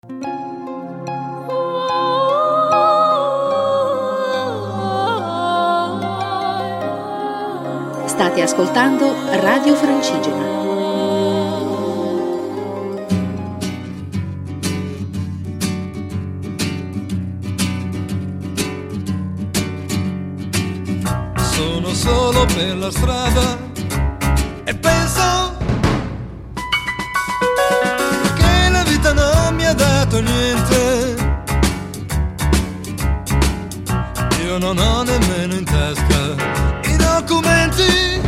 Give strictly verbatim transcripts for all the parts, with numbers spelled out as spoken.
State ascoltando Radio Francigena. Sono solo per la strada e penso che la vita non mi ha dato niente. Io non ho nemmeno in tasca documenti,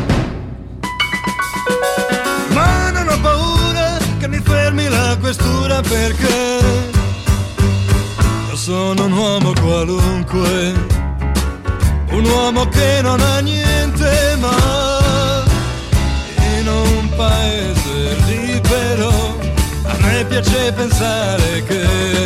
ma non ho paura che mi fermi la questura, perché io sono un uomo qualunque, un uomo che non ha niente, ma in un paese libero a me piace pensare che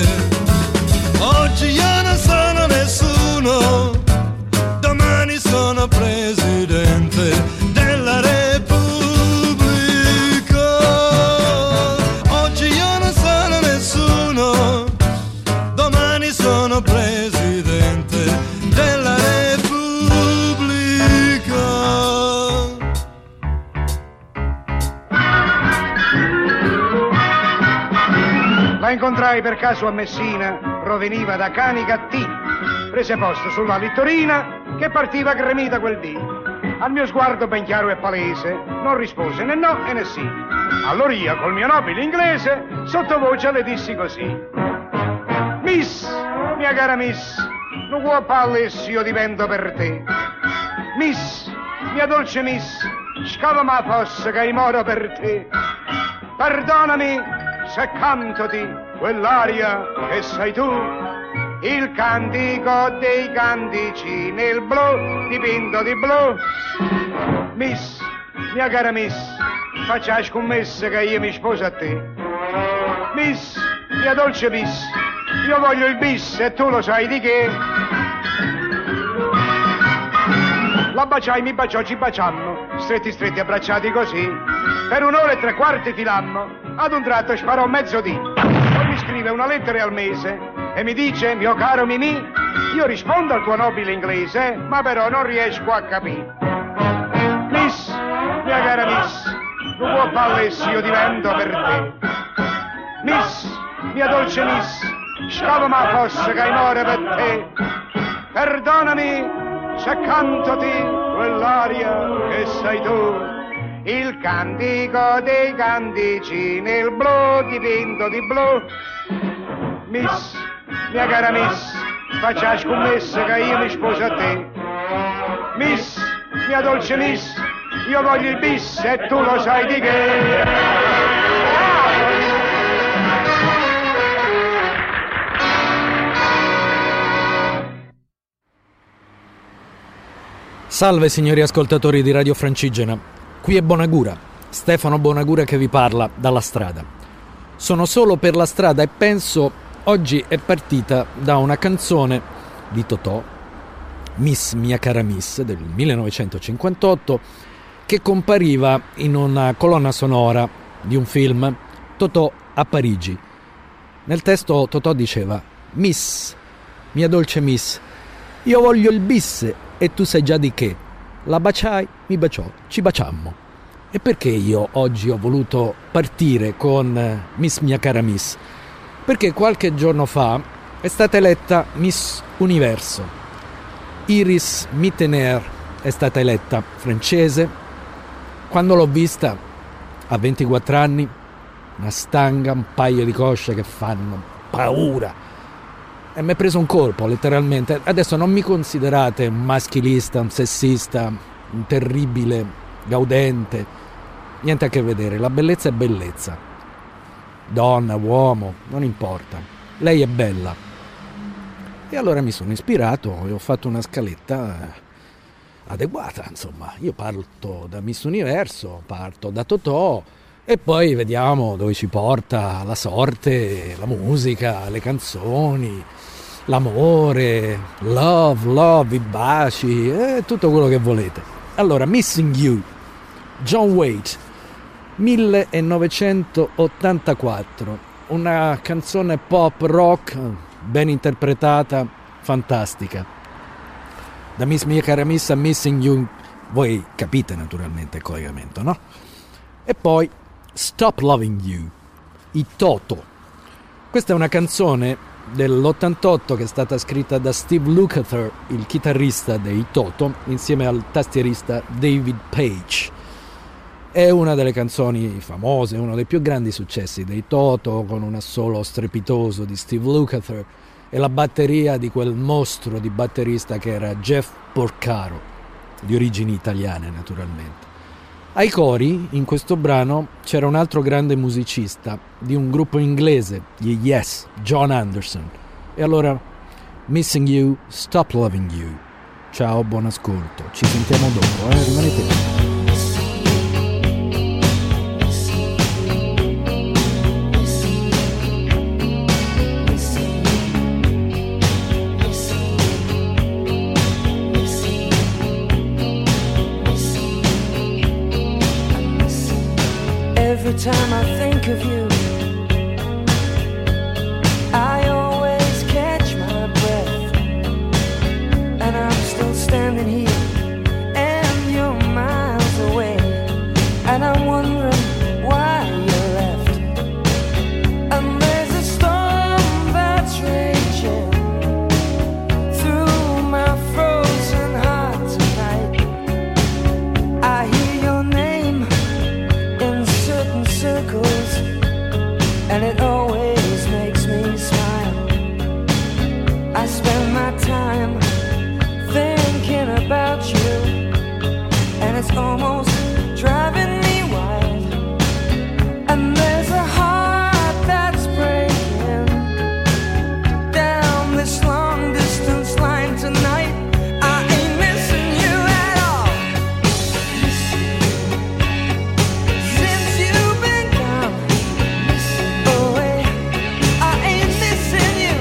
oggi io non sono nessuno, domani sono presidente della Repubblica. Oggi io non sono nessuno, domani sono presidente della Repubblica. La incontrai per caso a Messina, proveniva da Canicattì. Prese posto sulla littorina che partiva gremita quel dì. Al mio sguardo ben chiaro e palese non rispose né no e né sì. Allora io col mio nobile inglese sottovoce le dissi così: Miss, mia cara Miss, non vuoi palle se io divento per te. Miss, mia dolce Miss, scava ma fosse che moro per te. Perdonami se cantoti quell'aria che sei tu, il cantico dei cantici nel blu dipinto di blu. Miss, mia cara Miss, faccia scommessa che io mi sposo a te. Miss, mia dolce Miss, io voglio il bis e tu lo sai di che. La baciai, mi baciò, ci baciammo, stretti stretti abbracciati così. Per un'ora e tre quarti filammo, ad un tratto sparò mezzodì. Poi mi scrive una lettera al mese e mi dice: mio caro Mimì, io rispondo al tuo nobile inglese, ma però non riesco a capire. Miss, mia cara Miss, non può palle se io divento per te. Miss, mia dolce Miss, scava ma fosse che muore per te. Perdonami se cantoti quell'aria che sei tu, il cantico dei cantici nel blu dipinto di blu. Miss, mia cara Miss, faccia scommessa che io mi sposo a te. Miss, mia dolce Miss, io voglio il bis e tu lo sai di che. Salve signori ascoltatori di Radio Francigena, qui è Bonagura, Stefano Bonagura che vi parla dalla strada. Sono solo per la strada e penso oggi è partita da una canzone di Totò, Miss mia cara Miss, del millenovecentocinquantotto, che compariva in una colonna sonora di un film, Totò a Parigi. Nel testo Totò diceva: Miss, mia dolce Miss, io voglio il bis e tu sai già di che. La baciai, mi baciò, ci baciammo. E perché io oggi ho voluto partire con Miss mia cara Miss? Perché qualche giorno fa è stata eletta Miss Universo. Iris Mittener è stata eletta, francese. Quando l'ho vista, a ventiquattro anni, una stanga, un paio di cosce che fanno paura. E mi è preso un colpo, letteralmente. Adesso non mi considerate un maschilista, un sessista, un terribile gaudente. Niente a che vedere, la bellezza è bellezza. Donna, uomo, non importa. Lei è bella. E allora mi sono ispirato e ho fatto una scaletta adeguata, insomma. Io parto da Miss Universo, parto da Totò e poi vediamo dove ci porta la sorte, la musica, le canzoni, l'amore, love, love, i baci e tutto quello che volete. Allora, Missing You, John Waite, millenovecentottantaquattro, una canzone pop rock ben interpretata, fantastica. Da Miss Mia Cara Miss a Missing You, voi capite naturalmente il collegamento, no? E poi Stop Loving You, i Toto. Questa è una canzone dell'ottantotto che è stata scritta da Steve Lukather, il chitarrista dei Toto, insieme al tastierista David Page. È una delle canzoni famose, uno dei più grandi successi dei Toto, con un assolo strepitoso di Steve Lukather e la batteria di quel mostro di batterista che era Jeff Porcaro, di origini italiane naturalmente. Ai cori, in questo brano, c'era un altro grande musicista di un gruppo inglese, gli Yes, John Anderson. E allora, Missing You, Stop Loving You. Ciao, buon ascolto. Ci sentiamo dopo, eh? Rimanete lì. Every time I think of you, I always catch my breath, and I'm still standing here, and you're miles away, and I'm wondering why you left. And there's a storm that's raging through my frozen heart tonight. I hear your name in certain circles, and it always makes me smile. I spend my time thinking about you, and it's almost driving me wild. And there's a heart that's breaking down this long distance line tonight. I ain't missing you at all. Since you've been gone away, I ain't missing you.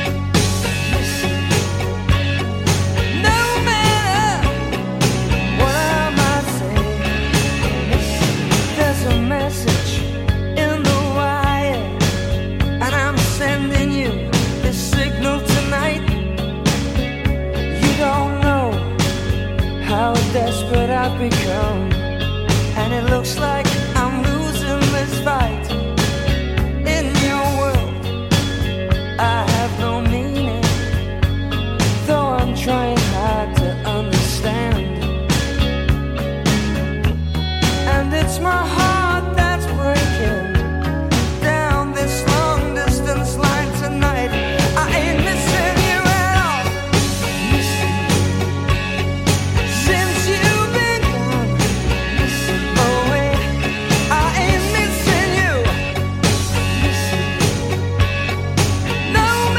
No matter what I might say, there's a message in the wire, and I'm sending you this signal tonight. You don't know how desperate I've become, and it looks like I'm losing this fight. In your world, I have no meaning, though I'm trying hard to understand. And it's my heart that's breaking down this long distance line tonight. I ain't missing you at all. Since you've been gone away, I ain't missing you. No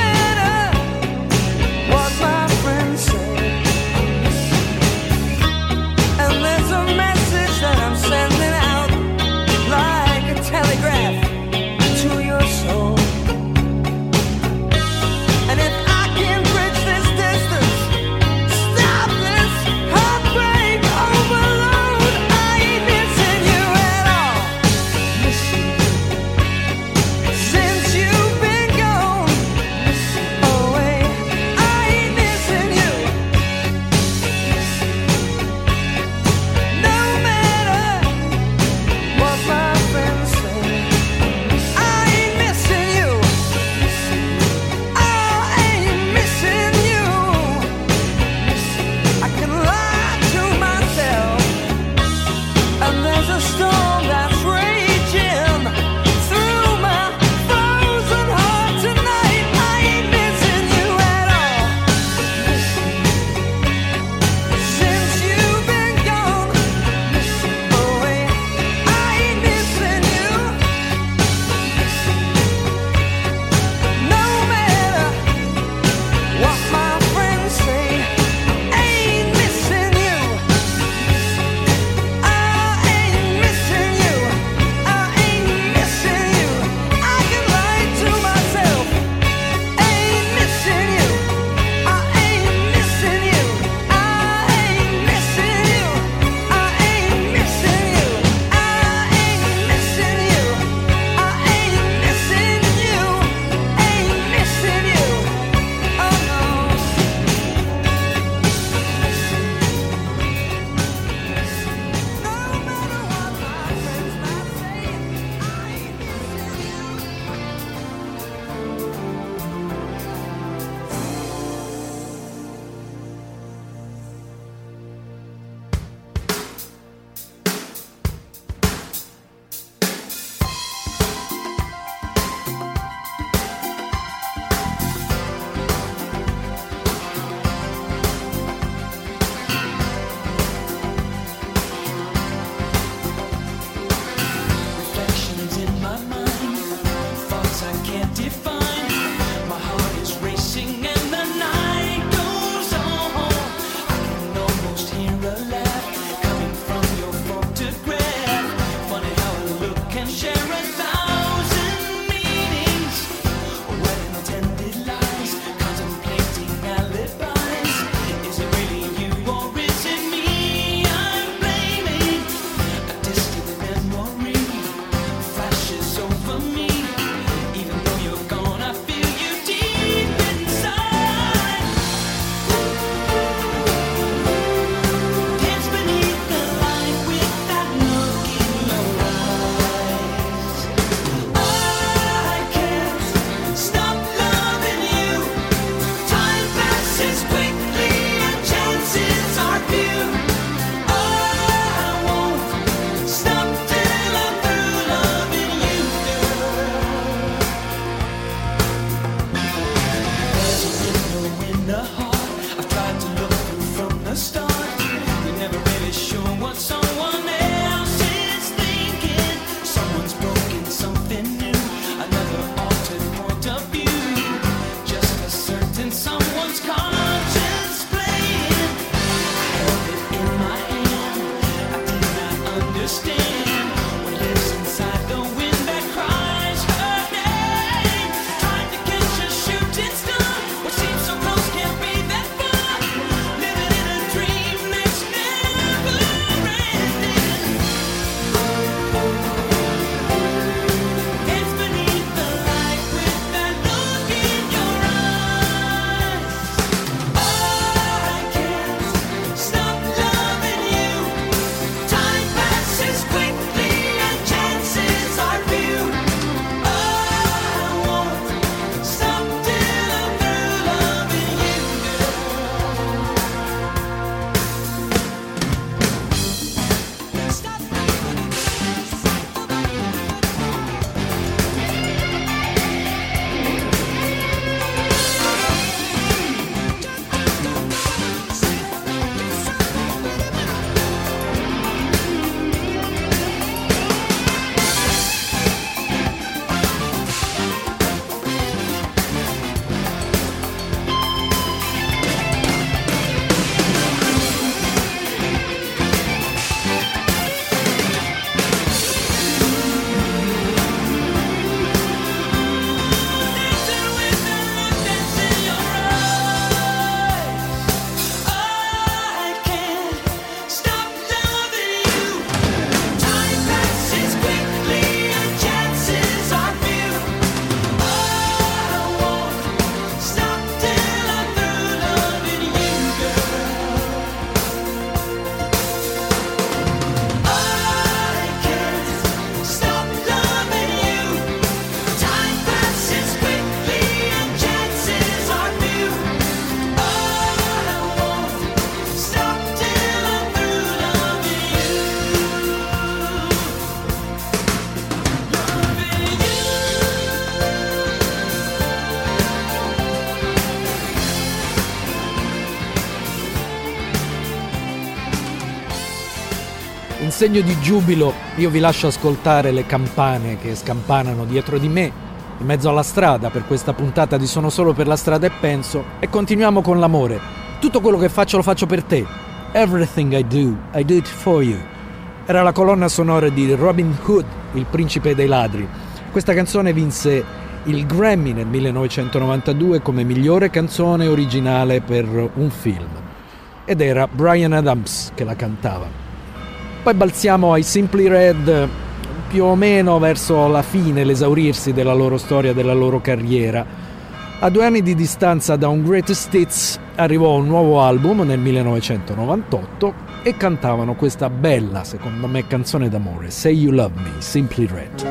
segno di giubilo io vi lascio ascoltare le campane che scampanano dietro di me, in mezzo alla strada, per questa puntata di Sono solo per la strada e penso, e continuiamo con l'amore. Tutto quello che faccio lo faccio per te. Everything I do, I do it for you. Era la colonna sonora di Robin Hood, il principe dei ladri. Questa canzone vinse il Grammy nel millenovecentonovantadue come migliore canzone originale per un film. Ed era Bryan Adams che la cantava. Poi balziamo ai Simply Red, più o meno verso la fine, l'esaurirsi della loro storia, della loro carriera. A due anni di distanza da un Greatest Hits arrivò un nuovo album nel millenovecentonovantotto e cantavano questa bella, secondo me, canzone d'amore, Say You Love Me, Simply Red.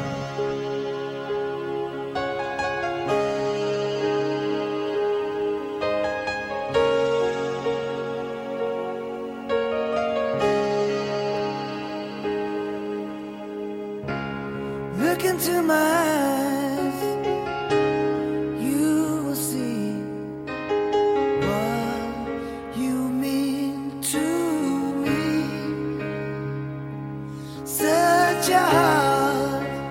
Look into my eyes, you will see what you mean to me. Such a heart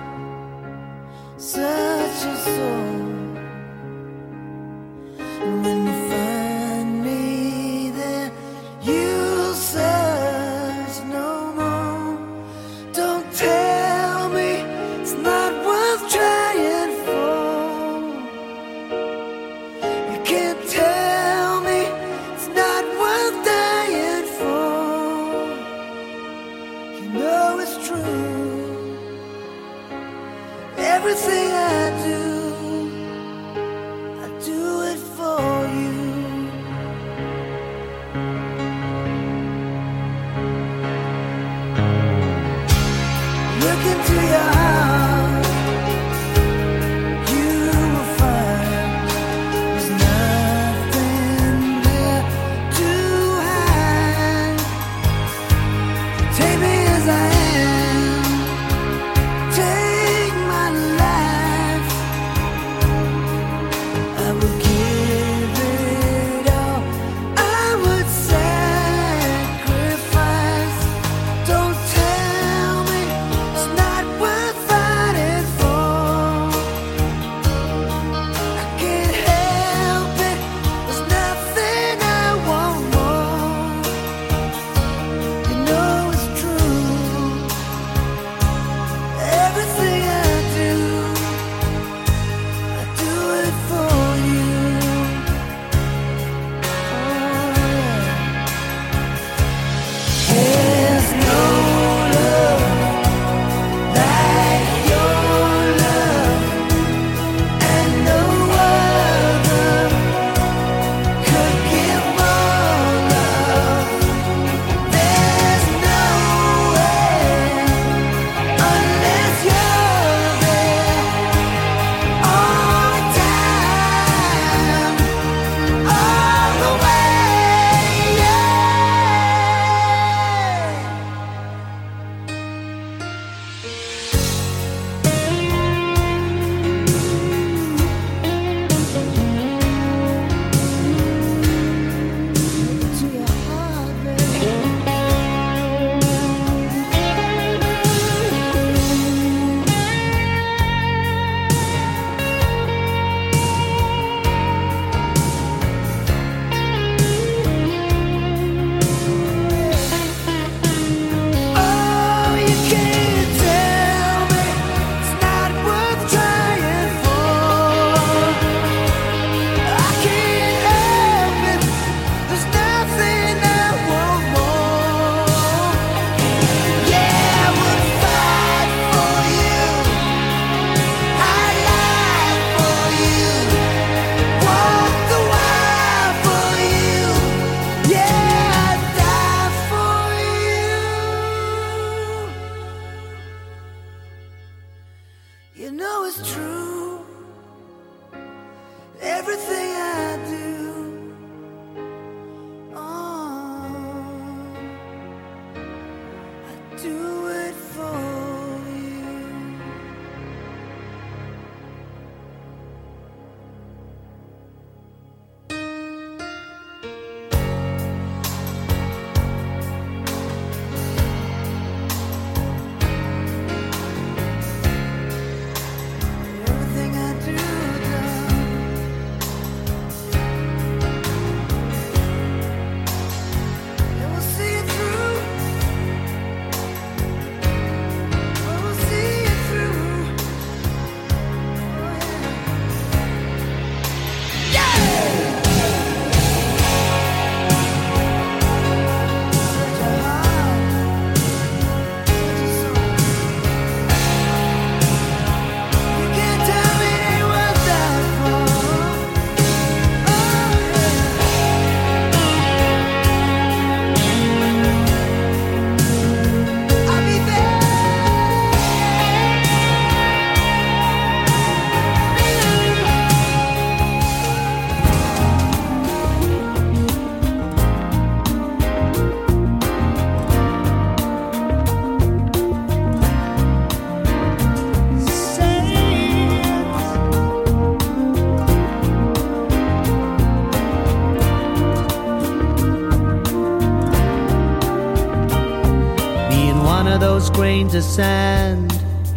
of those grains of sand.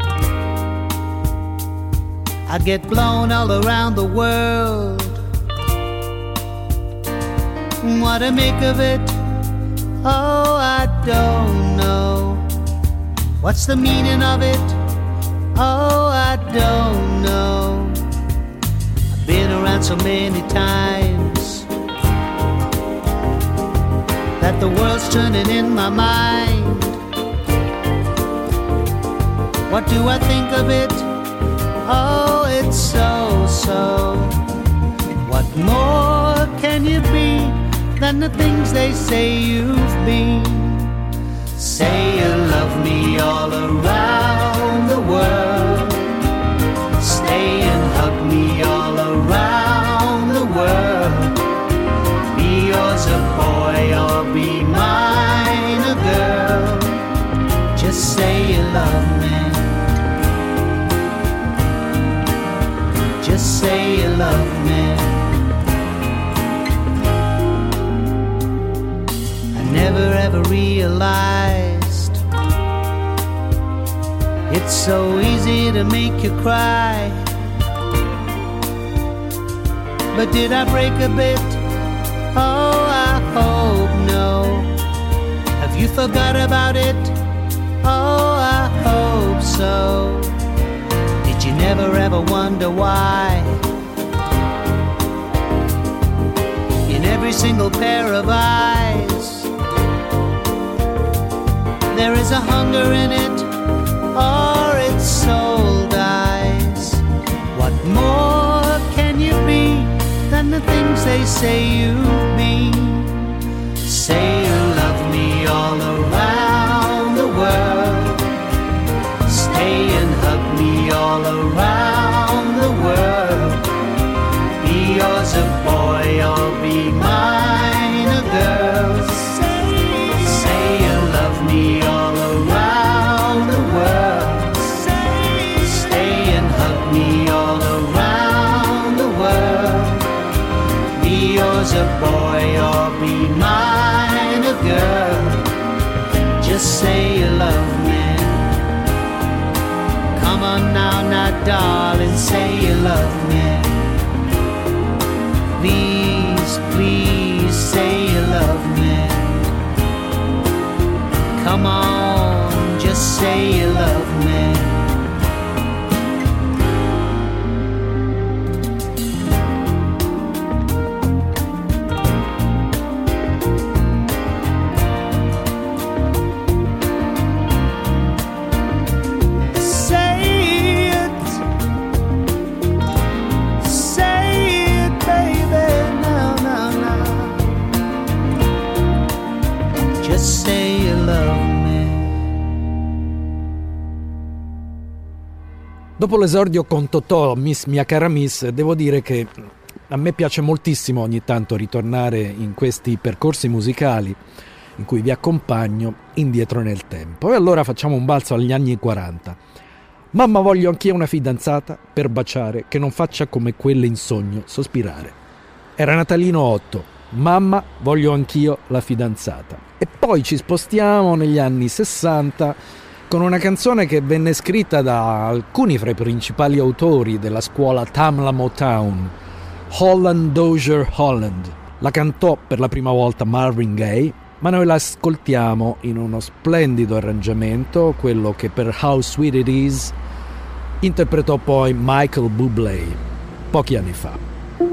I'd get blown all around the world. What to make of it? Oh, I don't know. What's the meaning of it? Oh, I don't know. I've been around so many times that the world's turning in my mind. What do I think of it? Oh, it's so, so. What more can you be than the things they say you've been? Say you love me all around the world. Stay and hug me all around the world. Be yours a boy or be mine a girl. Just say you love me. Just say you love me. I never ever realized it's so easy to make you cry. But did I break a bit? Oh, I hope no. Have you forgot about it? Oh, I hope so. Did you never ever wonder why in every single pair of eyes there is a hunger in it, or its soul dies? What more can you be than the things they say you've been? Say you love me all around the world. Stay and hug me all around the world. Be yours a boy or be mine a girl. Say, say you love me all around the world. Say, stay and hug me all around the world. Be yours a boy or be mine a girl. Just say you love me. Come on now, now, darling, say you love me. Please, please, say you love me. Come on, just say you love me. Dopo l'esordio con Totò, Miss Mia Cara Miss, devo dire che a me piace moltissimo ogni tanto ritornare in questi percorsi musicali in cui vi accompagno indietro nel tempo. E allora facciamo un balzo agli anni quaranta. Mamma, voglio anch'io una fidanzata per baciare, che non faccia come quelle in sogno sospirare. Era Natalino otto. Mamma, voglio anch'io la fidanzata. E poi ci spostiamo negli anni sessanta con una canzone che venne scritta da alcuni fra i principali autori della scuola Tamla Motown, Holland Dozier Holland. La cantò per la prima volta Marvin Gaye, ma noi la ascoltiamo in uno splendido arrangiamento, quello che per How Sweet It Is interpretò poi Michael Bublé pochi anni fa.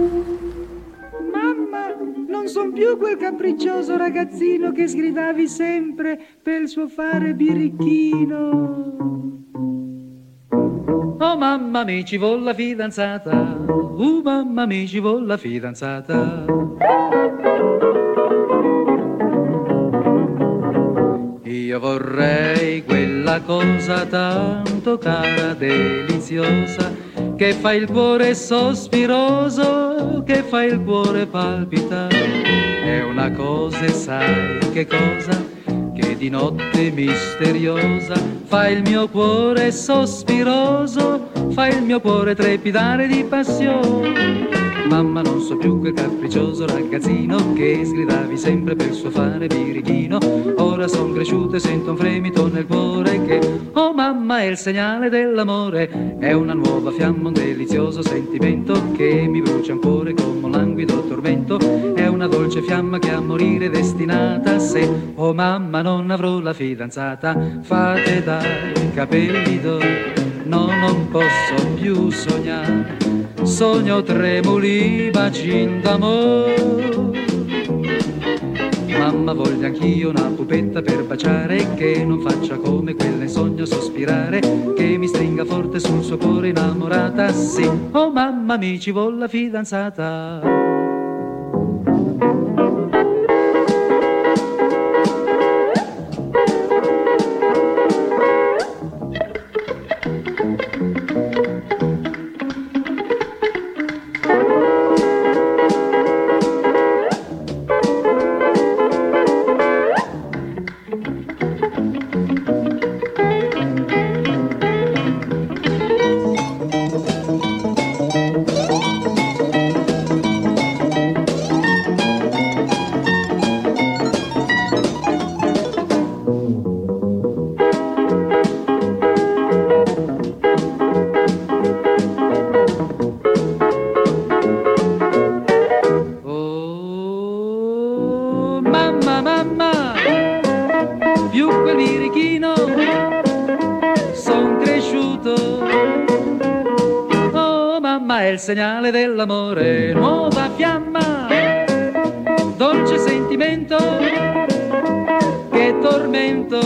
Non son più quel capriccioso ragazzino che sgridavi sempre per il suo fare birichino. Oh mamma mi ci vuol la fidanzata, uh mamma mi ci vuol la fidanzata. Io vorrei quella cosa tanto cara, deliziosa, che fa il cuore sospiroso, che fa il cuore palpitare. È una cosa, e sai che cosa? Che di notte misteriosa fa il mio cuore sospiroso, fa il mio cuore trepidare di passione. Mamma, non so più quel capriccioso ragazzino che sgridavi sempre per suo fare birichino. Ora son cresciuto e sento un fremito nel cuore che, oh mamma, è il segnale dell'amore. È una nuova fiamma, un delizioso sentimento che mi brucia un cuore come un languido tormento. È una dolce fiamma che a morire è destinata. Se, oh mamma, non avrò la fidanzata, fate dai capelli d'oro, no, non posso più sognare. Sogno tremuli, bacin d'amore. Mamma, voglio anch'io una pupetta per baciare, che non faccia come quella in sogno sospirare, che mi stringa forte sul suo cuore innamorata. Sì, oh mamma, mi ci vuol la fidanzata. Segnale dell'amore, nuova fiamma, dolce sentimento, che tormento.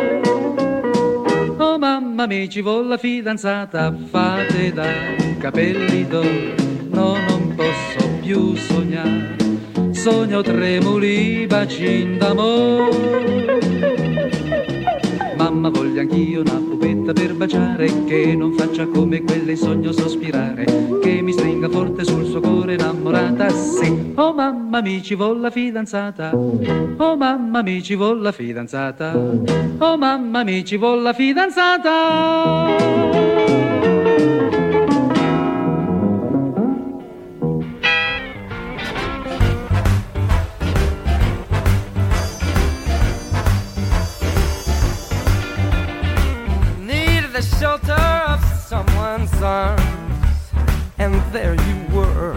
Oh mamma, mi ci vuol la fidanzata, fate dai capelli d'oro, no, non posso più sognare. Sogno tremuli, bacin d'amore. Mamma, voglio anch'io una pupetta per baciare, che non faccia come quelle in sogno sospirare, che mi stringa forte sul suo cuore innamorata. Sì, oh mamma, mi ci vuol la fidanzata. Oh mamma, mi ci vuol la fidanzata. Oh mamma, mi ci vuol la fidanzata. Shelter of someone's arms, and there you were.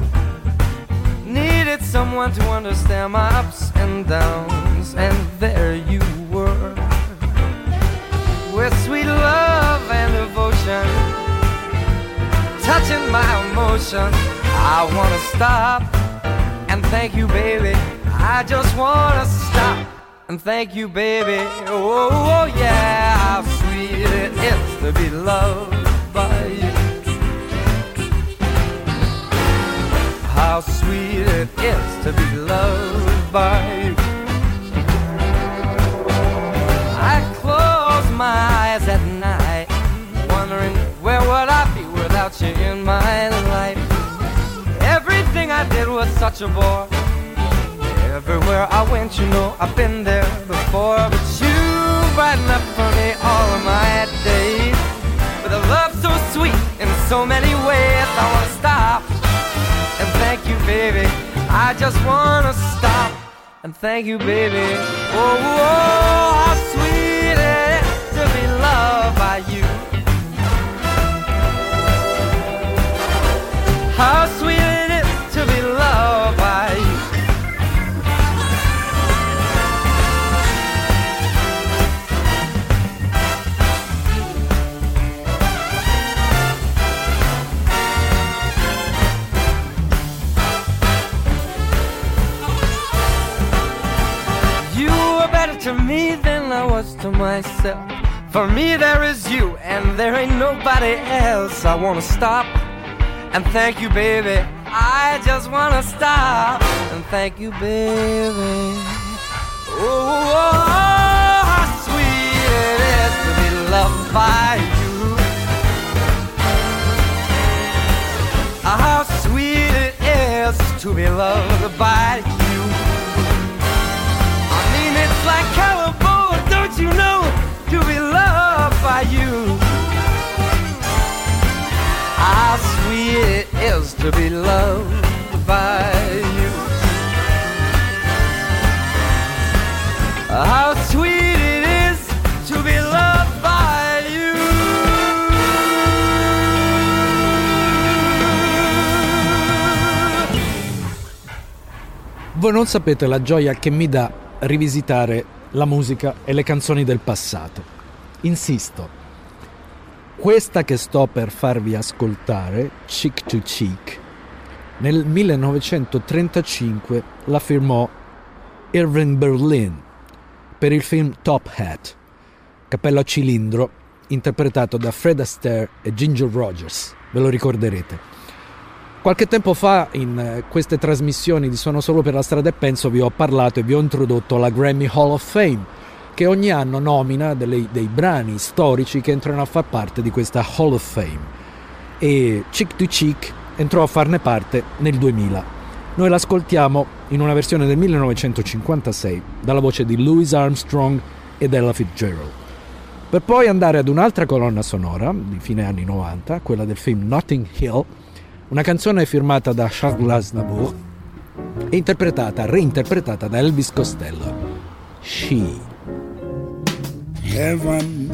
Needed someone to understand my ups and downs, and there you were. With sweet love and devotion, touching my emotions, I wanna stop and thank you, baby. I just wanna stop and thank you, baby. Oh, oh yeah, how sweet it is to be loved by you. How sweet it is to be loved by you. I close my eyes at night, wondering where would I be without you in my life. Everything I did was such a bore. Everywhere I went, you know, I've been there before. But you brighten up for me all of my days with a love so sweet in so many ways. I wanna stop and thank you, baby. I just wanna stop and thank you, baby. Oh, oh, how sweet it is to be loved by you. How sweet it is to be loved by you. To me than I was to myself. For me there is you and there ain't nobody else. I wanna stop and thank you, baby. I just wanna stop and thank you, baby. Oh, oh, oh, how sweet it is to be loved by you. How sweet it is to be loved by you. It's like California, don't you know, to be loved by you. How sweet it is to be loved by you. How sweet it is to be loved by you. Voi non sapete la gioia che mi dà rivisitare la musica e le canzoni del passato. Insisto, questa che sto per farvi ascoltare, Cheek to Cheek, nel millenovecentotrentacinque la firmò Irving Berlin per il film Top Hat, Cappello a cilindro, interpretato da Fred Astaire e Ginger Rogers, ve lo ricorderete. Qualche tempo fa in queste trasmissioni di Sono solo per la strada e penso vi ho parlato e vi ho introdotto la Grammy Hall of Fame, che ogni anno nomina delle, dei brani storici che entrano a far parte di questa Hall of Fame, e Cheek to Cheek entrò a farne parte nel duemila. Noi l'ascoltiamo in una versione del millenovecentocinquantasei dalla voce di Louis Armstrong ed Ella Fitzgerald, per poi andare ad un'altra colonna sonora di fine anni novanta, quella del film Notting Hill, una canzone firmata da Charles Aznavour e interpretata, reinterpretata da Elvis Costello, She. Heaven,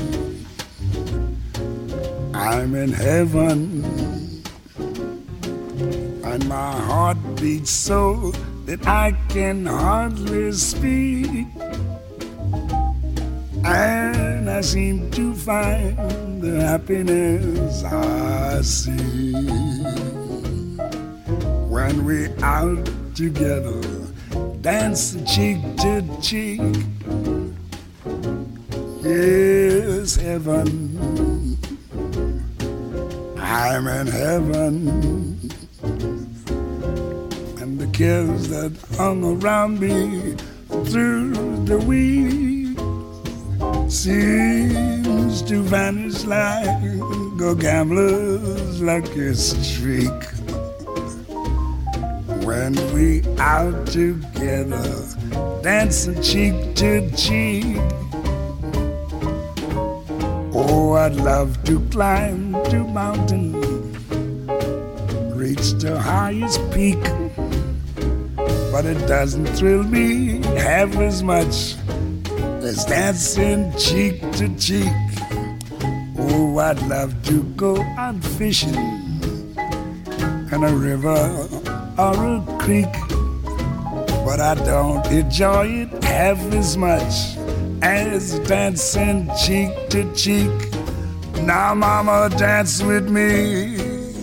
I'm in heaven, and my heart beats so that I can hardly speak, and I seem to find the happiness I see when we're out together, dance cheek to cheek. Yes, heaven, I'm in heaven, and the cares that hung around me through the week seems to vanish like a gambler's lucky streak when we out together, dancing cheek to cheek. Oh, I'd love to climb to mountain, reach the highest peak, but it doesn't thrill me half as much as dancing cheek to cheek. Oh, I'd love to go out fishing in a river or a creek, but I don't enjoy it half as much as dancing cheek to cheek. Now, mama, dance with me.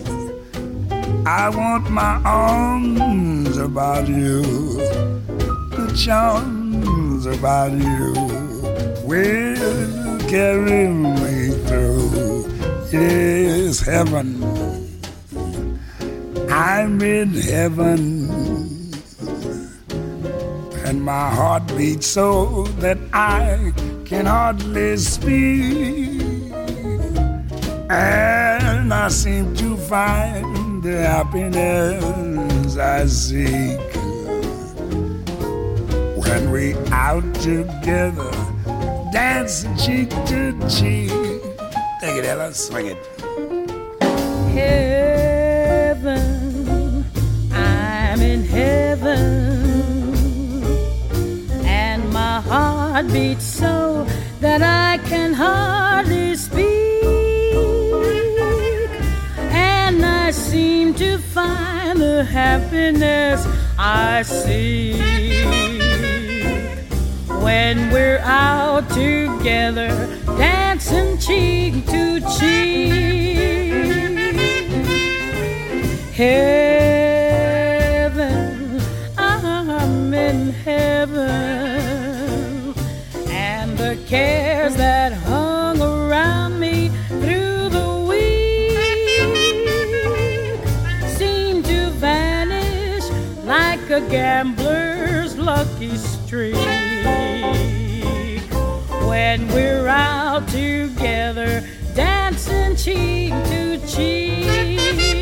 I want my arms about you, the charms about you will carry me through. Yes, heaven, I'm in heaven, and my heart beats so that I can hardly speak, and I seem to find the happiness I seek when we out together, dancing cheek to cheek. Take it, Ella, swing it. Heaven, I'm in heaven, and my heart beats so that I can hardly speak, and I seem to find the happiness I seek when we're out together, dancing cheek to cheek. Heaven, I'm in heaven, and the cares that hung around me through the week seem to vanish like a gambler's lucky streak when we're out together, dancing cheek to cheek.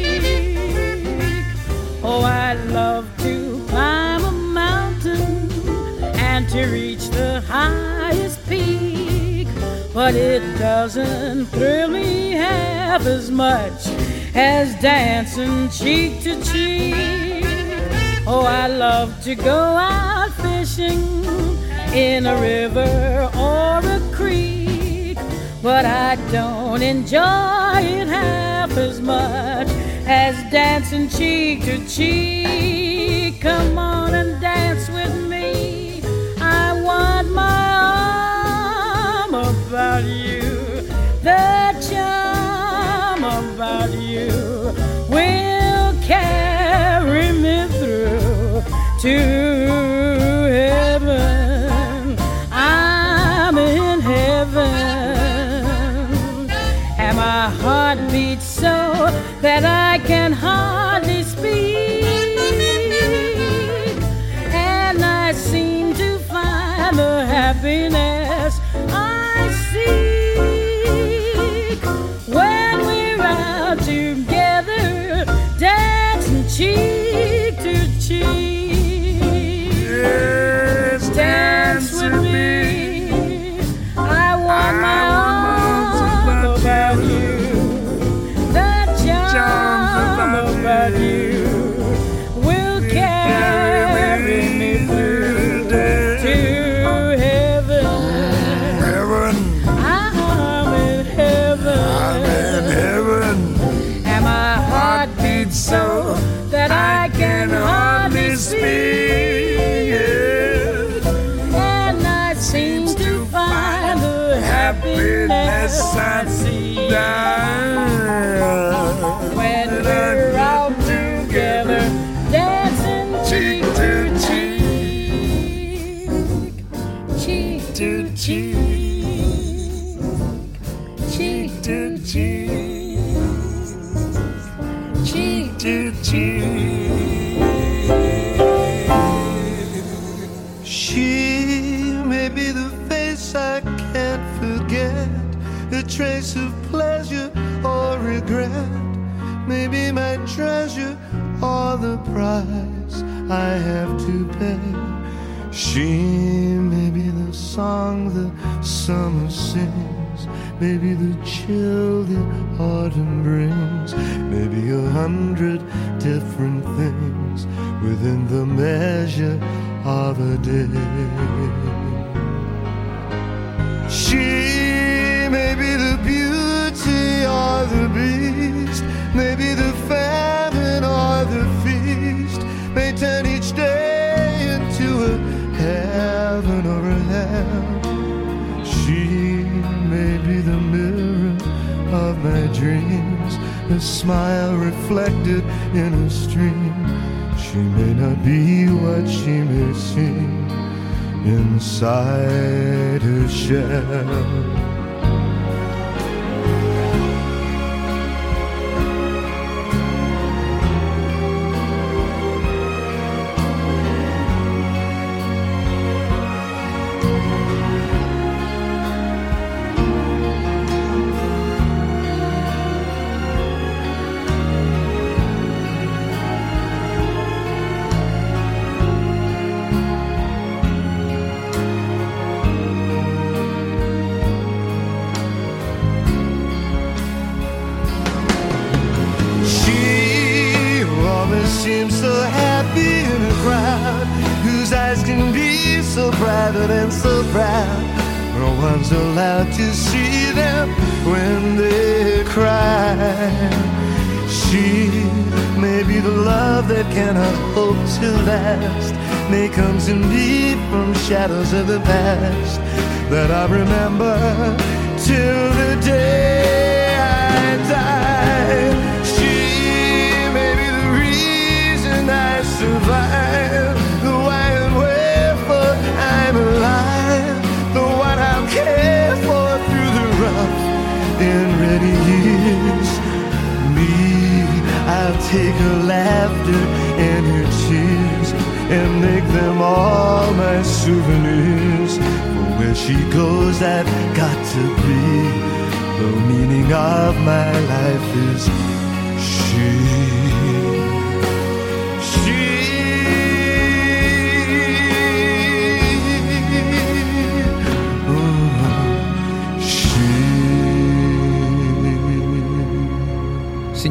Oh, I'd love to climb a mountain and to reach the highest peak, but it doesn't thrill me half as much as dancing cheek to cheek. Oh, I love to go out fishing in a river or a creek, but I don't enjoy it half as much as dancing cheek to cheek. Come on and dance with me, I want my arm about you. The charm about you will carry me through to heaven. I'm in heaven, and my heart beats so that I can hardly speak, and I seem to find the happiness I seek when we're out together, dancing cheek to cheek. Yes, dance with me, I want my arms about you. The charm about you will carry me through to heaven. Heaven. I'm in heaven. I'm in heaven. And my heart beats so that I can hardly speak. And I seem to find the happiness I see when we're out together, dancing cheek to cheek, cheek to cheek, cheek to cheek, cheek to cheek. She may be the face I can't forget, a trace of pleasure or regret, maybe my treasure or the price I have to pay. She may be the song the summer sings, maybe the chill the autumn brings, maybe a hundred different things within the measure of a day. She may be the beauty or the beast, maybe the famine or the feast, may turn each day into a heaven or a hell. She may be the mirror of my dreams, a smile reflected in a stream. She may not be what she may seem inside her shell. Seems so happy in a crowd whose eyes can be so private and so proud. No one's allowed to see them when they cry. She may be the love that cannot hope to last, may come to me from shadows of the past that I remember till the day I die. I survive, the why and wherefore I'm alive, the one I'll care for through the rough and ready years. Me, I'll take her laughter and her tears and make them all my souvenirs. For where she goes, I've got to be. The meaning of my life is she.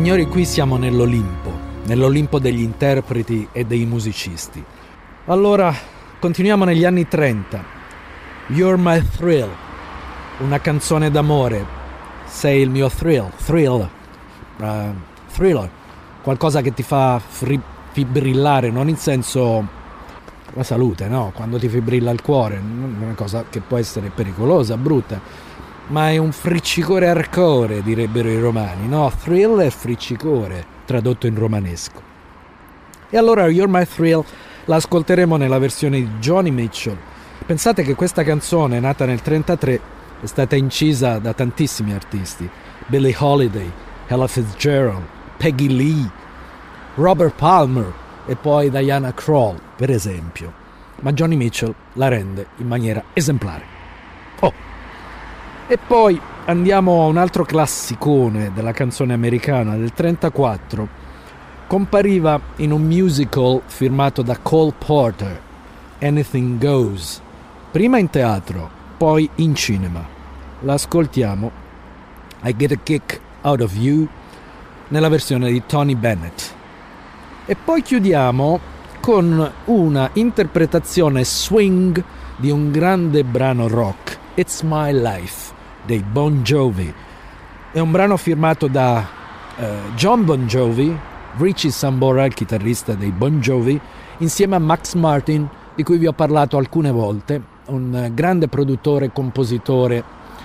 signori, qui siamo nell'Olimpo, nell'Olimpo degli interpreti e dei musicisti. Allora, continuiamo negli anni trenta. You're my thrill, una canzone d'amore. Sei il mio thrill, thrill, uh, thriller, qualcosa che ti fa fri- fibrillare, non in senso la salute, no? Quando ti fibrilla il cuore, una cosa che può essere pericolosa, brutta, ma è un friccicore hardcore, direbbero i romani, no? Thrill è friccicore, tradotto in romanesco. E allora You're My Thrill la ascolteremo nella versione di Joni Mitchell. Pensate che questa canzone, nata nel trentatré, è stata incisa da tantissimi artisti: Billie Holiday, Ella Fitzgerald, Peggy Lee, Robert Palmer e poi Diana Krall, per esempio. Ma Joni Mitchell la rende in maniera esemplare. Oh! E poi andiamo a un altro classicone della canzone americana del trentaquattro. Compariva in un musical firmato da Cole Porter, Anything Goes, prima in teatro, poi in cinema. La ascoltiamo, I Get a Kick Out of You, nella versione di Tony Bennett. E poi chiudiamo con una interpretazione swing di un grande brano rock, It's My Life, dei Bon Jovi. È un brano firmato da uh, John Bon Jovi, Richie Sambora, il chitarrista dei Bon Jovi, insieme a Max Martin, di cui vi ho parlato alcune volte, un grande produttore, compositore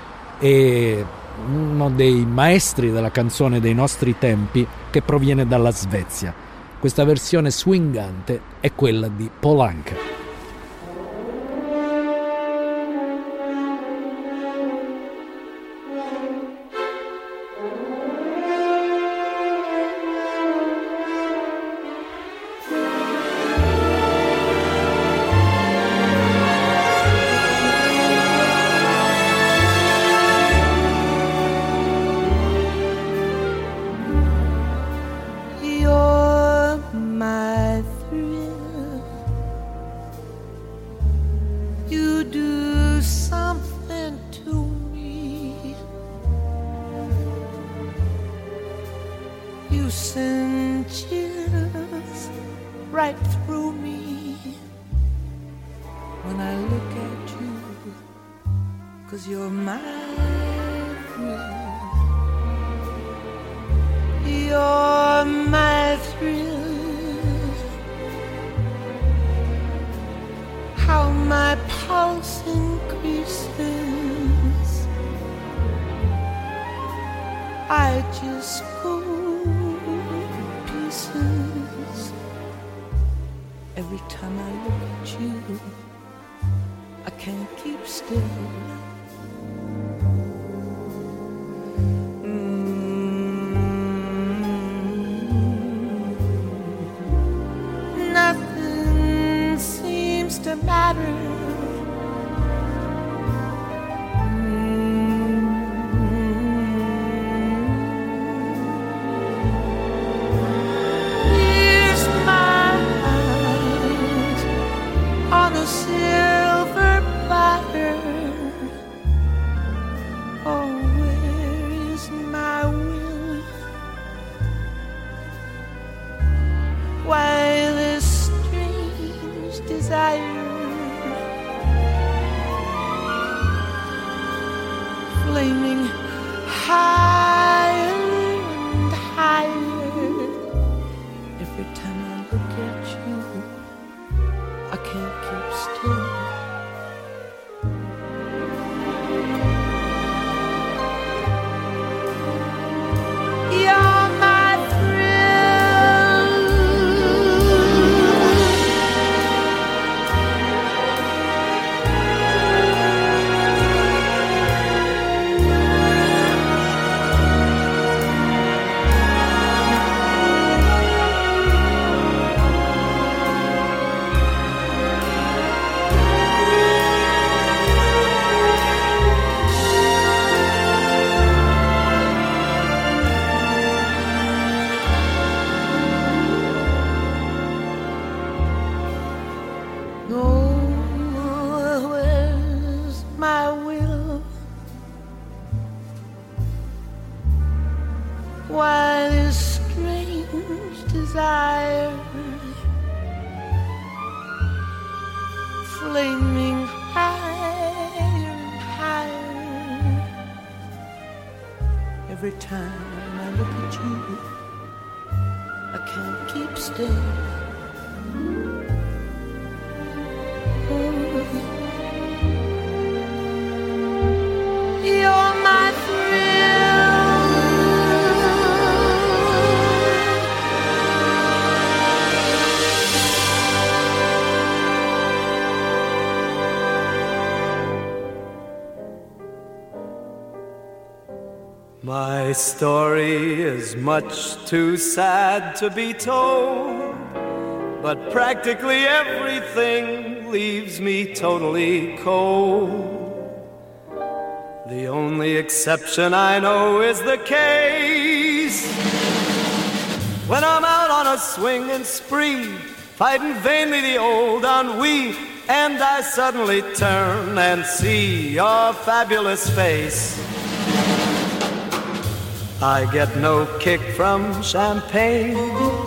e uno dei maestri della canzone dei nostri tempi, che proviene dalla Svezia. Questa versione swingante è quella di Paul Anka. Why this strange desire flaming higher and higher. Every time I look at you, I can't keep still. You're my thrill. My story is much too sad to be told, but practically everything leaves me totally cold. The only exception I know is the case when I'm out on a swinging spree, fighting vainly the old ennui, and I suddenly turn and see your fabulous face. I get no kick from champagne.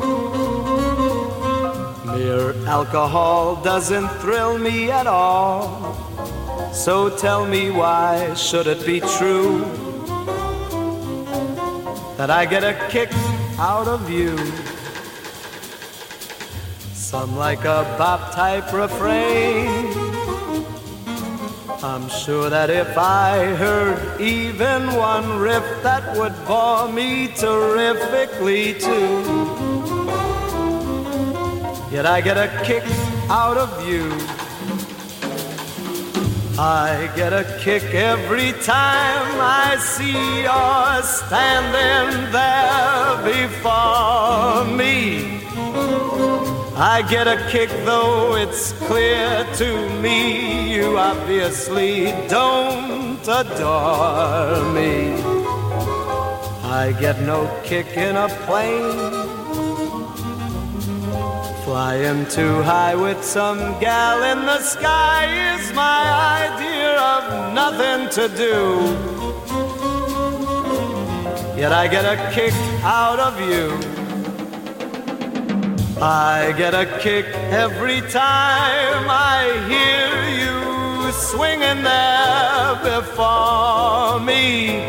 Mere alcohol doesn't thrill me at all. So tell me, why should it be true that I get a kick out of you? Some like a bop type refrain. I'm sure that if I heard even one riff, that would bore me terrifically too. Yet I get a kick out of you. I get a kick every time I see you're standing there before me. I get a kick, though it's clear to me you obviously don't adore me. I get no kick in a plane, flying too high with some gal in the sky is my idea of nothing to do. Yet I get a kick out of you. I get a kick every time I hear you swinging there before me.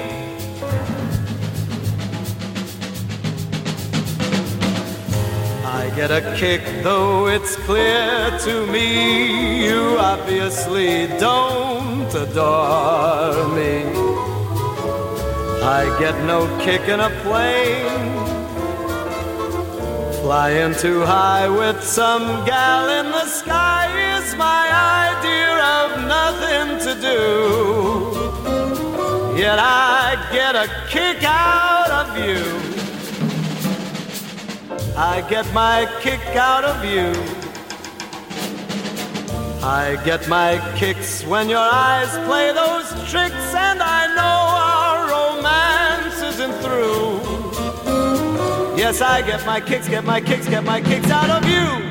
I get a kick, though it's clear to me you obviously don't adore me. I get no kick in a plane, flying too high with some gal in the sky is my idea of nothing to do. Yet I get a kick out of you. I get my kick out of you. I get my kicks when your eyes play those tricks, and I know our romance isn't through. Yes, I get my kicks, get my kicks, get my kicks out of you.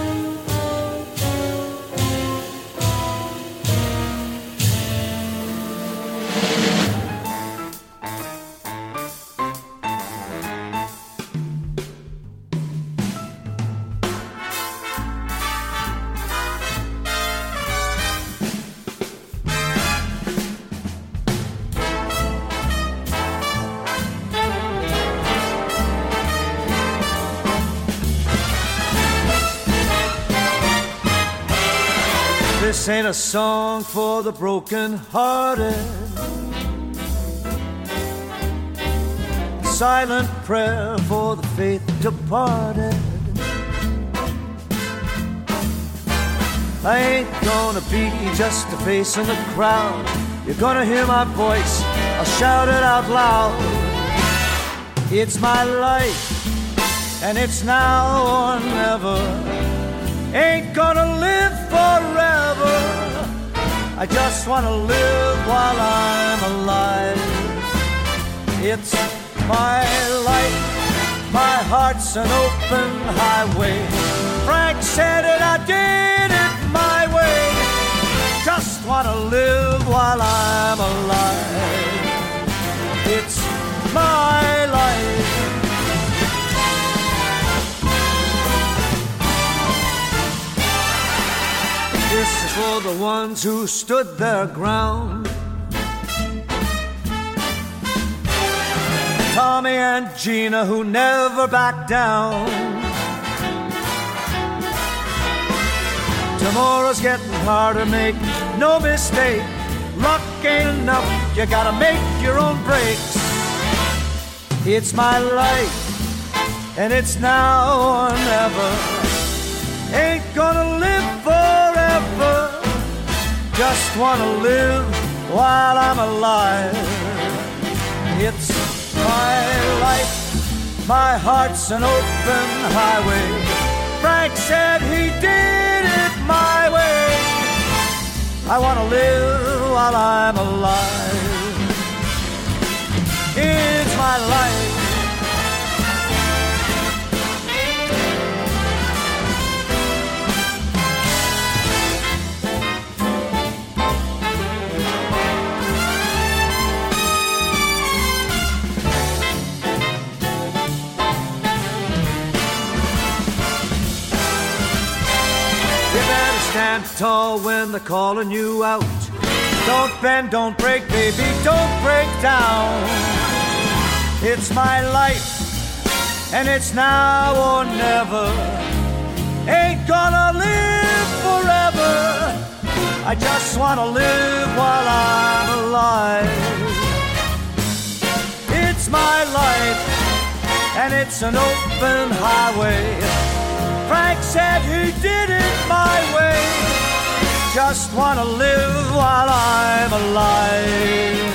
This ain't a song for the broken-hearted, silent prayer for the faith departed. I ain't gonna be just a face in the crowd. You're gonna hear my voice, I'll shout it out loud. It's my life, and it's now or never. Ain't gonna live forever. I just wanna live while I'm alive. It's my life, my heart's an open highway. Frank said it, I did it my way. Just wanna live while I'm alive. It's my life. This is for the ones who stood their ground. Tommy and Gina who never backed down. Tomorrow's getting harder, make no mistake. Luck ain't enough, you gotta make your own breaks. It's my life, and it's now or never. Ain't gonna live forever, just wanna live while I'm alive. It's my life, my heart's an open highway. Frank said he did it my way. I wanna live while I'm alive. It's my life. Stand tall when they're calling you out. Don't bend, don't break, baby, don't break down. It's my life, and it's now or never. Ain't gonna live forever, I just wanna live while I'm alive. It's my life, and it's an open highway. Frank said he did it my way. Just wanna live while I'm alive.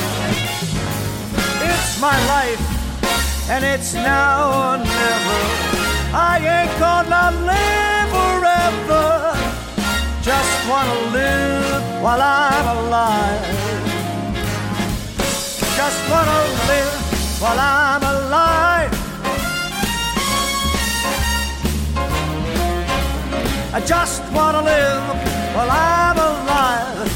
It's my life, and it's now or never. I ain't gonna live forever. Just wanna live while I'm alive. Just wanna live while I'm alive. I just wanna live while I'm alive.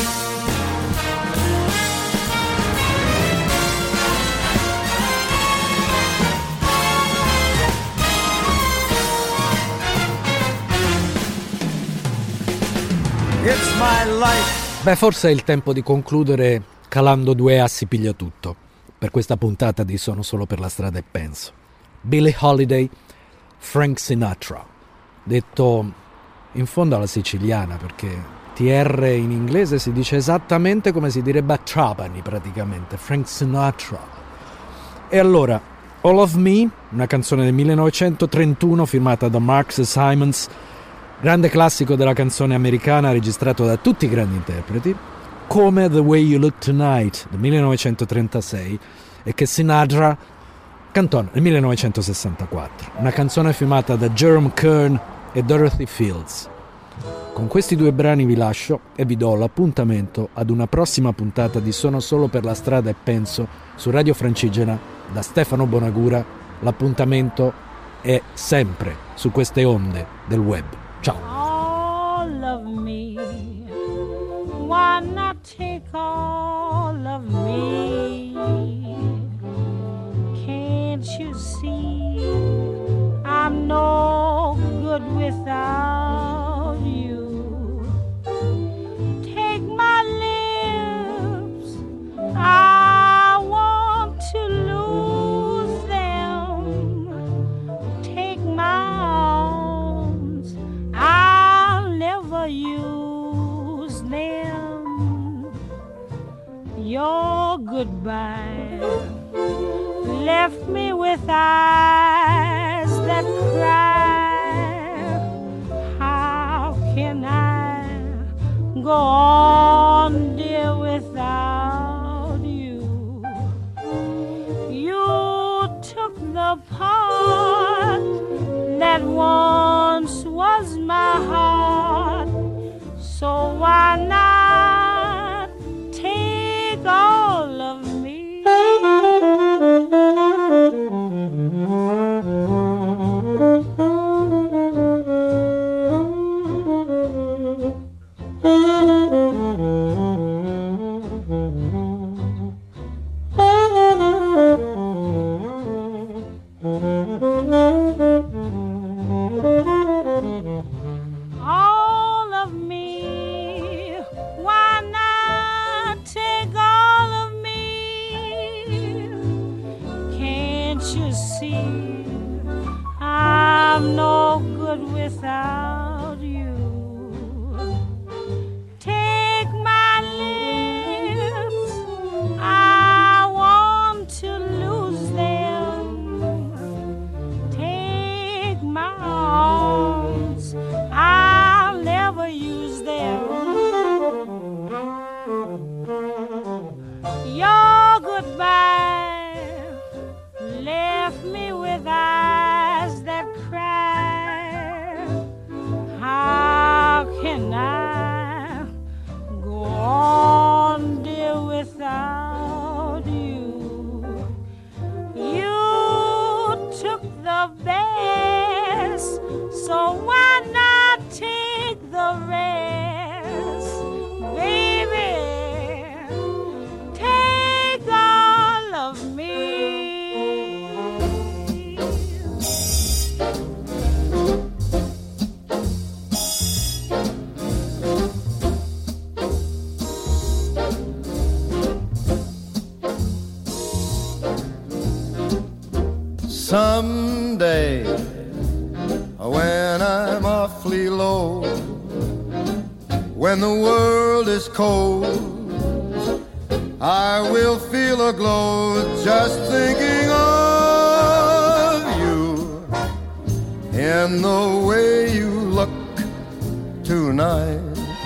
It's my life. Beh, forse è il tempo di concludere calando due assi piglia tutto per questa puntata di Sono solo per la strada e penso. Billie Holiday, Frank Sinatra, detto in fondo alla siciliana, perché T R in inglese si dice esattamente come si direbbe a Trapani praticamente, Frank Sinatra. E allora, All of Me, una canzone del millenovecentotrentuno firmata da Mark Simons, grande classico della canzone americana registrato da tutti i grandi interpreti, come The Way You Look Tonight del millenovecentotrentasei e che Sinatra cantò nel millenovecentosessantaquattro, una canzone firmata da Jerome Kern e Dorothy Fields. Con questi due brani vi lascio e vi do l'appuntamento ad una prossima puntata di Sono solo per la strada e penso su Radio Francigena da Stefano Bonagura. L'appuntamento è sempre su queste onde del web. Ciao. All of me, why not take all of me? Can't you see I'm no good without you? Take my lips, I want to lose them. Take my arms, I'll never use them. Your goodbye left me with eyes that cry. How can I go on, dear, without you? You took the part that once was my heart, so why not take all of me? without you. Take my lips, I want to lose them. Take my arms, I'll never use them. Your goodbye left me with eyes that cry. How can I go on, dear, without you? You took the best, so why not take the rest? Baby, take all of me. Someday, when I'm awfully low, when the world is cold, I will feel a glow just thinking of you in the way you look tonight.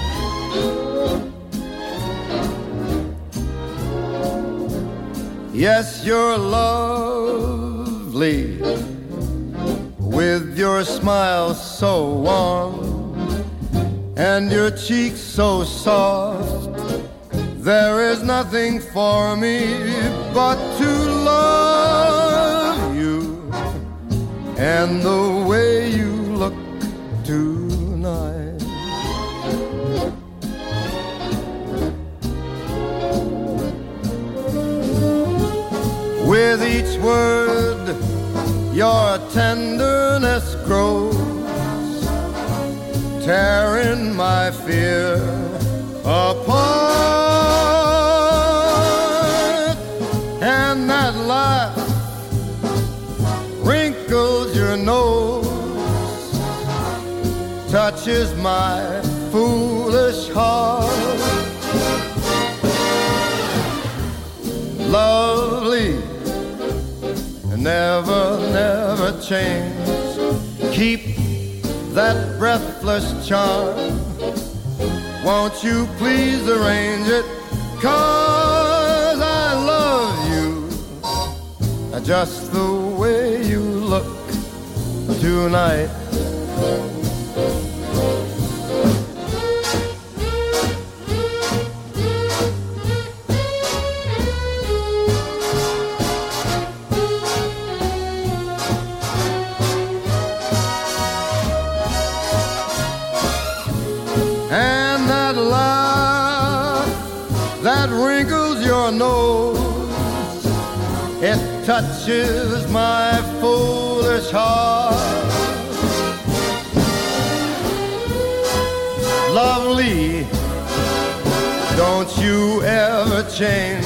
Yes, you're lovely with your smile so warm and your cheeks so soft. There is nothing for me but to love you and the way you look tonight. With each word your tenderness grows, tearing my fear apart. And that laugh wrinkles your nose, touches my foolish heart. Lovely, never, never change. Keep that breathless charm. Won't you please arrange it? 'Cause I love you just the way you look tonight. And that laugh that wrinkles your nose, it touches my foolish heart. Lovely, don't you ever change.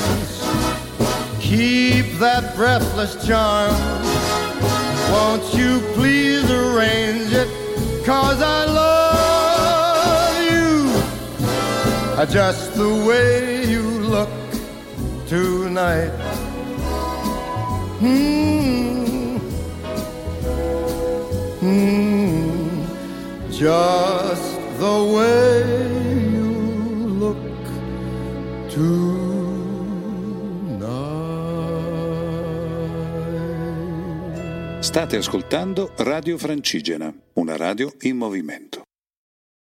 Keep that breathless charm. Won't you please arrange it? 'Cause I love just the way you look tonight. Mm. Mm. Just the way you look tonight. State ascoltando Radio Francigena, una radio in movimento.